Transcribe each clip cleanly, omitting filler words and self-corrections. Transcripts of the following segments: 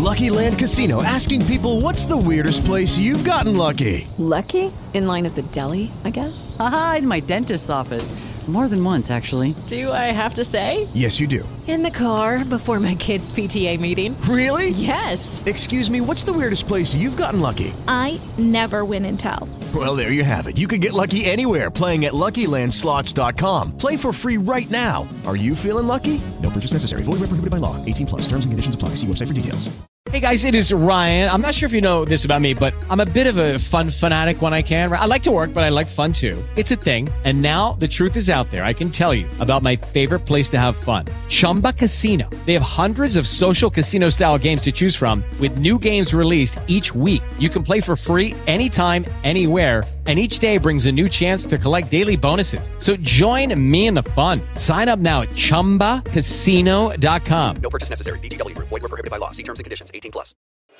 Lucky Land Casino, asking people, what's the weirdest place you've gotten lucky? Lucky? In line at the deli, I guess? Aha, in my dentist's office. More than once, actually. Do I have to say? Yes, you do. In the car before my kids' PTA meeting. Really? Yes. Excuse me, what's the weirdest place you've gotten lucky? I never win and tell. Well, there you have it. You can get lucky anywhere, playing at LuckyLandSlots.com. Play for free right now. Are you feeling lucky? No purchase necessary. Void where prohibited by law. 18 plus. Terms and conditions apply. See website for details. Hey guys, it is Ryan. I'm not sure if you know this about me, but I'm a bit of a fun fanatic when I can. I like to work, but I like fun too. It's a thing. And now the truth is out there. I can tell you about my favorite place to have fun. Chumba Casino. They have hundreds of social casino style games to choose from with new games released each week. You can play for free anytime, anywhere. And each day brings a new chance to collect daily bonuses. So join me in the fun. Sign up now at ChumbaCasino.com. No purchase necessary. VGW Group. Void where prohibited by law. See terms and conditions. 18 plus.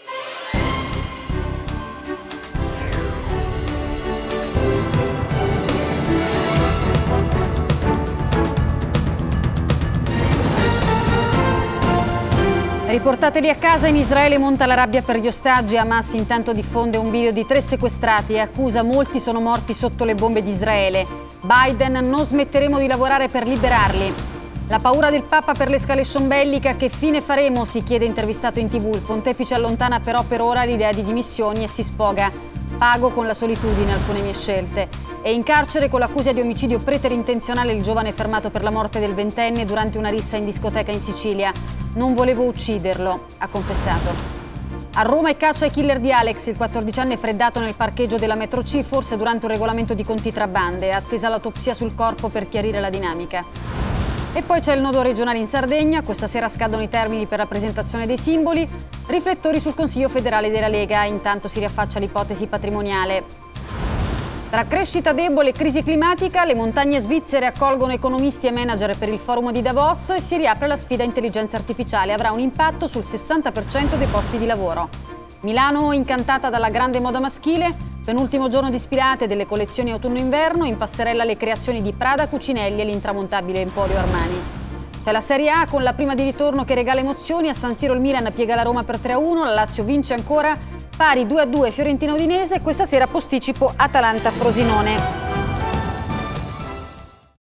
Riportateli a casa, in Israele monta la rabbia per gli ostaggi. Hamas intanto diffonde un video di 3 sequestrati e accusa molti sono morti sotto le bombe di Israele. Biden: non smetteremo di lavorare per liberarli. La paura del Papa per l'escalation bellica, che fine faremo? Si chiede intervistato in TV. Il pontefice allontana però per ora l'idea di dimissioni e si sfoga: pago con la solitudine alcune mie scelte. È in carcere con l'accusa di omicidio preterintenzionale il giovane fermato per la morte del 20enne durante una rissa in discoteca in Sicilia. Non volevo ucciderlo, ha confessato. A Roma è caccia ai killer di Alex, il 14enne freddato nel parcheggio della metro C, forse durante un regolamento di conti tra bande. È attesa l'autopsia sul corpo per chiarire la dinamica. E poi c'è il nodo regionale in Sardegna. Questa sera scadono i termini per la presentazione dei simboli. Riflettori sul Consiglio federale della Lega. Intanto si riaffaccia l'ipotesi patrimoniale. Tra crescita debole e crisi climatica, le montagne svizzere accolgono economisti e manager per il forum di Davos e si riapre la sfida intelligenza artificiale. Avrà un impatto sul 60% dei posti di lavoro. Milano incantata dalla grande moda maschile. Penultimo giorno di sfilate delle collezioni autunno-inverno. In passerella le creazioni di Prada, Cucinelli e l'intramontabile Emporio Armani. C'è la Serie A con la prima di ritorno che regala emozioni. A San Siro il Milan piega la Roma per 3-1. La Lazio vince ancora. Pari 2-2 Fiorentina Udinese. Questa sera posticipo Atalanta Frosinone.